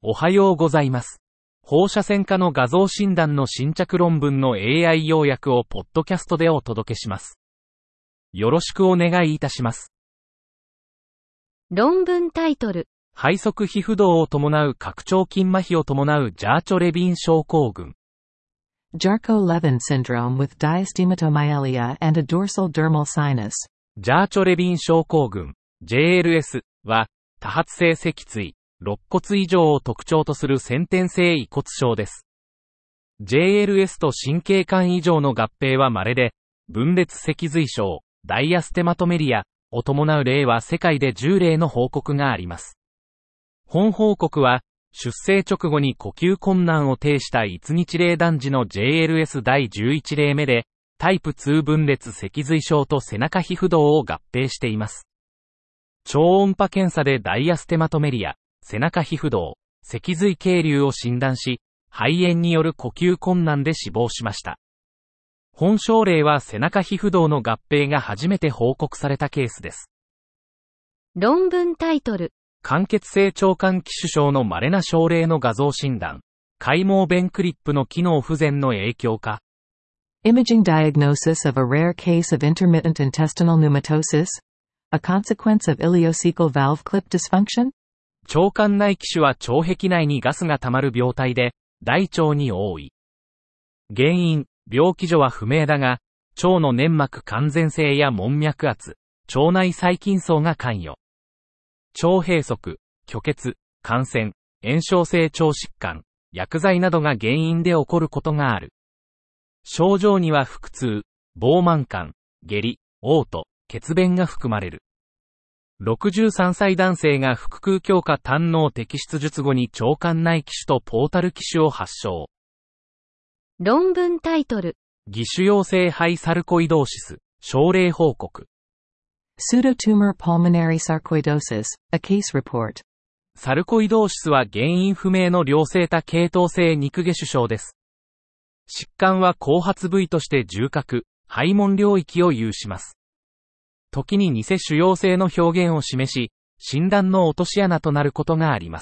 おはようございます。放射線科の画像診断の新着論文の AI 要約をポッドキャストでお届けします。よろしくお願いいたします。 論文タイトル。 肺側皮膚動を伴う拡張筋麻痺を伴うジャーチョレビン症候群。 Charcot-Levin syndrome with diastematomyelia and a dorsal dermal sinus。 ジャーチョレビン症候群、JLS は、多発性脊椎、肋骨異常を特徴とする先天性異骨症です。JLS と神経管異常の合併は稀で、分裂脊髄症、ダイアステマトメリアを伴う例は世界で10例の報告があります。本報告は、出生直後に呼吸困難を呈した1日例男児の JLS 第11例目で、タイプ2分裂脊髄症と背中皮膚動を合併しています。超音波検査でダイアステマトメリア、背中皮膚動、脊髄経流を診断し、肺炎による呼吸困難で死亡しました。本症例は背中皮膚動の合併が初めて報告されたケースです。 論文タイトル。 間欠性腸管気腫症の稀な症例の画像診断。開毛弁クリップの機能不全の影響か。 Imaging diagnosis of a rare case of intermittent intestinal pneumatosis? A consequence of ileocecal valve clip dysfunction? 腸管内気腫は腸壁内にガスが溜まる病態で、大腸に多い。原因、病気所は不明だが、腸の粘膜完全性や門脈圧、腸内細菌層が関与。腸閉塞、虚血、感染、炎症性腸疾患、薬剤などが原因で起こることがある。症状には腹痛、膨満感、下痢、嘔吐、血便が含まれる。63歳男性が腹腔鏡下胆のう摘出術後に腸管内気腫とポータル気腫を発症。 論文タイトル。 偽腫瘍性肺サルコイドーシス、症例報告。 Pseudotumor pulmonary sarcoidosis, a case report。 サルコイドーシスは原因不明の良性多系統性肉下腫症です。疾患は後発部位として重核、肺門領域を有します。時に偽腫瘍性の表現を示し、診断の落とし穴となることがあります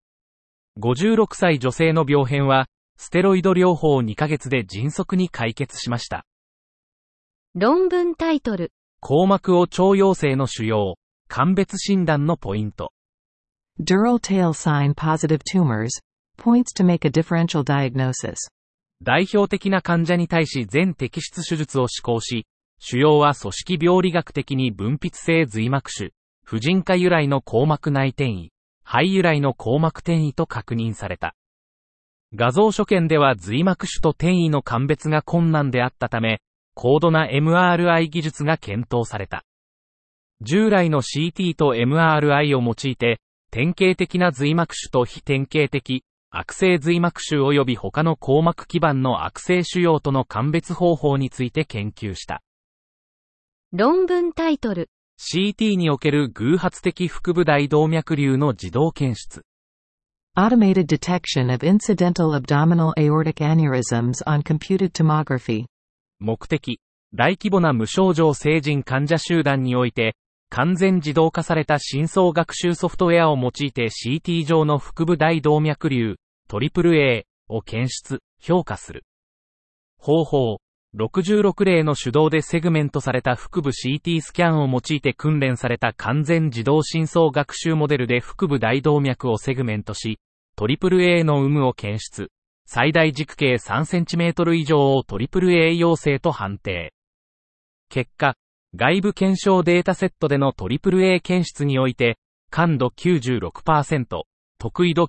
。56歳女性の病変は、ステロイド療法2ヶ月で迅速に解決しました。 論文タイトル。 硬膜を腸陽性の腫瘍、鑑別診断のポイント。 Dural tail sign positive tumors, points to make a differential diagnosis。 代表的な患者に対し全摘出手術を施行し、腫瘍は組織病理学的に分泌性髄膜腫、婦人科由来の硬膜内転移、肺由来の硬膜転移と確認された。画像所見では髄膜腫と転移の鑑別が困難であったため、高度な MRI 技術が検討された。従来の CT と MRI を用いて、典型的な髄膜腫と非典型的、悪性髄膜腫及び他の硬膜基盤の悪性腫瘍との鑑別方法について研究した。 論文タイトル。 CT における偶発的腹部大動脈瘤の自動検出。 Automated detection of incidental abdominal aortic aneurysms on computed tomography。 目的、大規模な無症状成人患者集団において、完全自動化された深層学習ソフトウェアを用いて CT 上の腹部大動脈瘤、AAA を検出、評価する。方法、66例の手動でセグメントされた腹部 CT スキャンを用いて訓練された完全自動深層学習モデルで腹部大動脈をセグメントし、AAA の有無を検出。最大軸径 3cm 以上を AAA 陽性と判定。結果、外部検証データセットでの AAA 検出において、感度 96%、特異度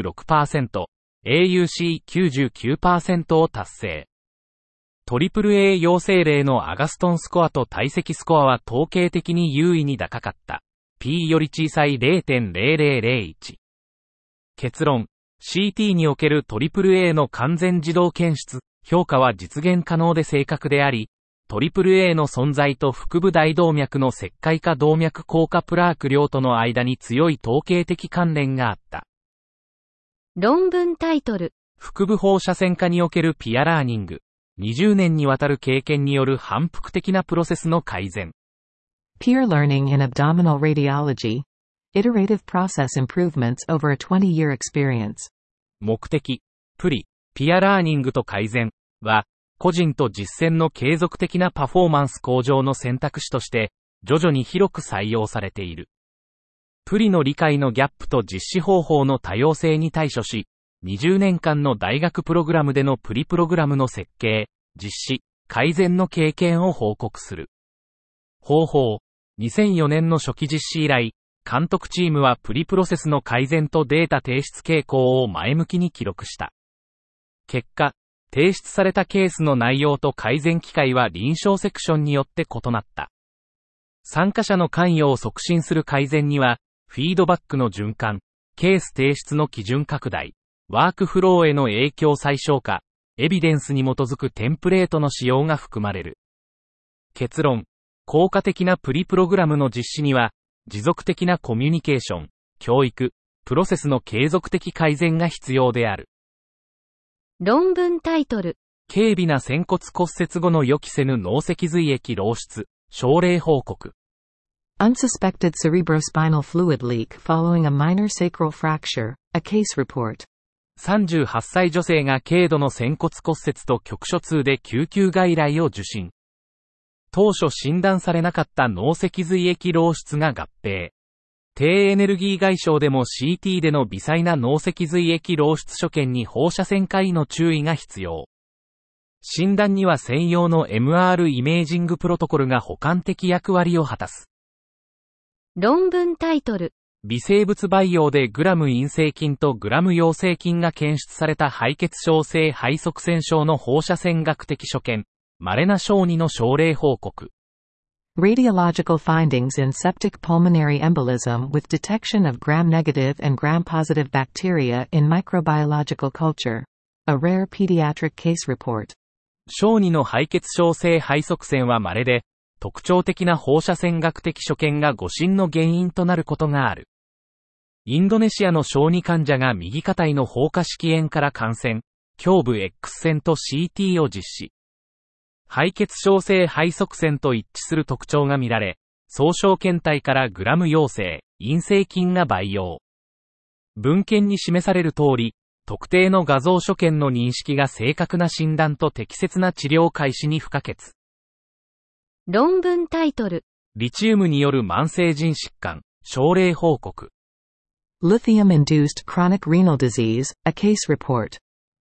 96%、AUC99% を達成。AAA 陽性例のアガストンスコアと体積スコアは統計的に優位に高かった。P より小さい 0.0001。結論、CT における AAA の完全自動検出、評価は実現可能で正確であり、AAA の存在と腹部大動脈の石灰化動脈硬化プラーク量との間に強い統計的関連があった。 論文タイトル。 腹部放射線科におけるピアラーニング。20年にわたる経験による反復的なプロセスの改善。 Peer learning in abdominal radiology. Iterative process improvements over a 20-year experience. 目的、ピアラーニングと改善は、個人と実践の継続的なパフォーマンス向上の選択肢として、徐々に広く採用されている。プリの理解のギャップと実施方法の多様性に対処し、20年間の大学プログラムでのプリプログラムの設計、実施、改善の経験を報告する。方法、2004年の初期実施以来、監督チームはプリプロセスの改善とデータ提出傾向を前向きに記録した。結果、提出されたケースの内容と改善機会は臨床セクションによって異なった。参加者の関与を促進する改善には、フィードバックの循環、ケース提出の基準拡大、ワークフローへの影響最小化、エビデンスに基づくテンプレートの使用が含まれる。結論、効果的なプリプログラムの実施には、持続的なコミュニケーション、教育、プロセスの継続的改善が必要である。 論文タイトル。 軽微な仙骨骨折後の予期せぬ脳脊髄液漏出、症例報告。 Unsuspected cerebrospinal fluid leak following a minor sacral fracture, a case report. 38歳女性が軽度の仙骨骨折と局所痛で救急外来を受診。当初診断されなかった脳脊髄液漏出が合併。低エネルギー外傷でも CT での微細な脳脊髄液漏出所見に放射線科医の注意が必要。診断には専用の MR イメージングプロトコルが補完的役割を果たす。 論文タイトル。 微生物培養でグラム陰性菌とグラム陽性菌が検出された敗血症性肺塞栓症の放射線学的所見、稀な小児の症例報告。 Radiological findings in septic pulmonary embolism with detection of gram-negative and gram-positive bacteria in microbiological culture. A rare pediatric case report. 小児の敗血症性肺塞栓は稀で、特徴的な放射線学的所見が誤診の原因となることがある。インドネシアの小児患者が右下体の放火式炎から感染、胸部 X 線と CT を実施。敗血症性肺塞栓と一致する特徴が見られ、総小検体からグラム陽性、陰性菌が培養。文献に示される通り、特定の画像所見の認識が正確な診断と適切な治療開始に不可欠。 論文タイトル。 リチウムによる慢性腎疾患、症例報告。 Lithium-induced chronic renal disease, a case report.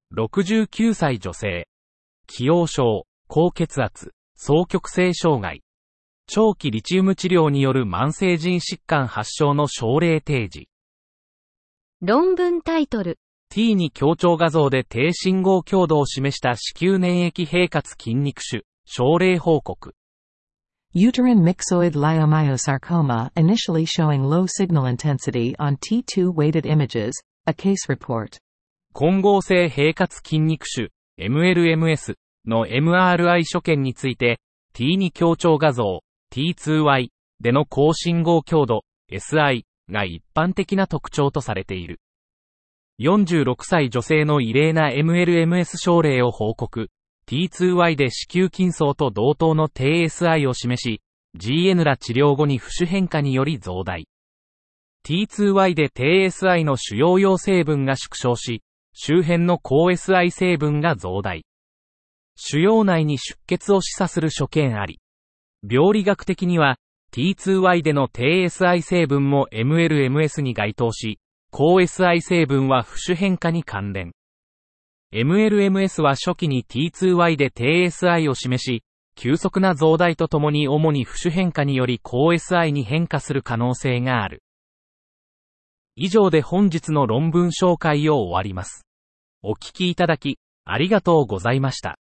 69歳女性。既往症、高血圧、双極性障害。長期リチウム治療による慢性腎疾患発症の症例提示。 論文タイトル。 T に強調画像で低信号強度を示した子宮粘液平滑筋肉腫、症例報告。 Uterine myxoid leiomyosarcoma initially showing low signal intensity on T2-weighted images, a case report. 混合性平滑筋肉腫、MLMS の MRI 所見について、T2 強調画像、T2Y での高信号強度、SI が一般的な特徴とされている。46歳女性の異例な MLMS 症例を報告。T2Y で子宮筋層と同等の低 SI を示し、GN ら治療後に浮腫変化により増大。T2Y で低 SI の主要陽成分が縮小し、周辺の高 SI 成分が増大。腫瘍内に出血を示唆する所見あり。病理学的には、T2Y での低 SI 成分も MLMS に該当し、高 SI 成分は浮腫変化に関連。MLMS は初期に T2Y で低 SI を示し、急速な増大とともに主に浮腫変化により高 SI に変化する可能性がある。以上で本日の論文紹介を終わります。お聞きいただき、ありがとうございました。